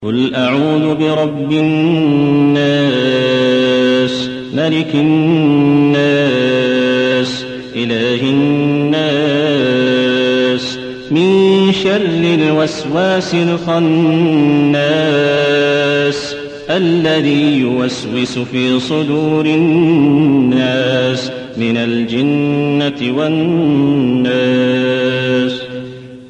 قل أعوذ برب الناس ملك الناس إله الناس من شر الوسواس الخناس الذي يوسوس في صدور الناس من الجنة والناس.